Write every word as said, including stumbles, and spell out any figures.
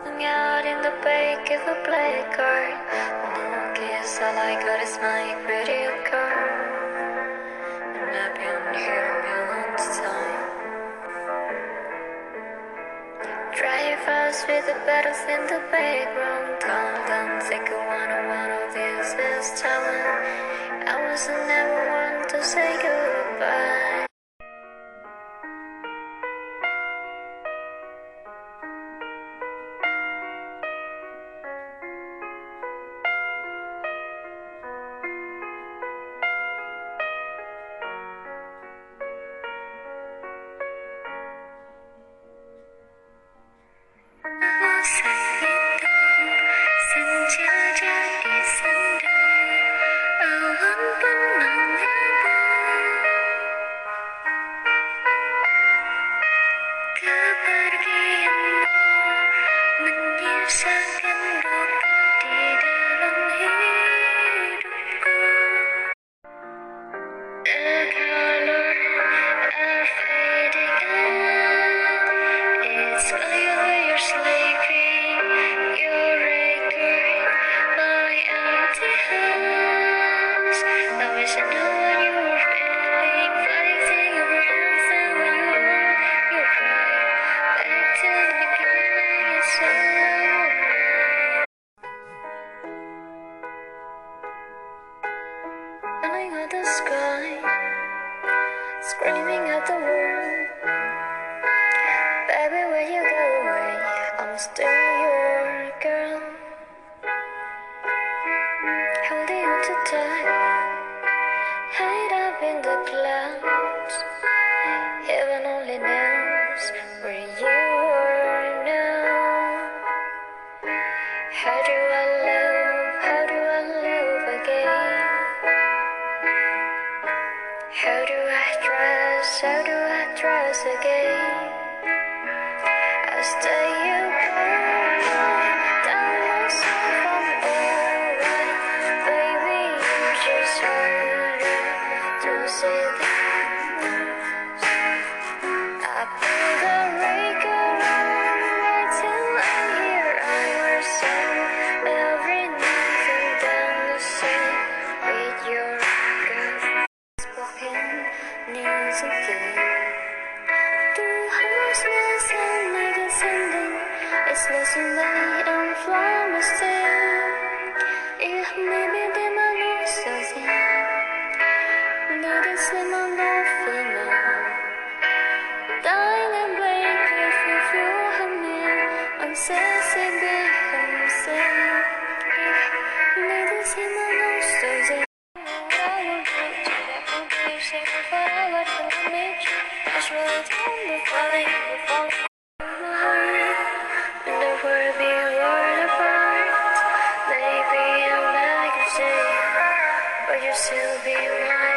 Hung out in the back of a black car. No kiss, all I got is my credit card. And I've been here a million times. Drive fast with the battles in the background. Don't, don't think I wanna one of these is telling. I was never one to say goodbye. At the sky, screaming at the world. Baby, when you go away, I'm still your girl. Holding you too tight, hide up in the clouds. Heaven only knows where you are now. How do I love, how do I love again? How do I trust, how do I trust again? I stay apart, tell myself I'm alright. Baby, you just harder to say that. I pull the record on, wait till I hear our song. Every night and then the same with your girl. News again. The homelessness and like sending it's losing light and flowers still. If maybe they might lose us in. Need to see my love female. Dying and break if you feel her near. I'm sassy, big, I'm sad. Need to see my love in. But you still be mine.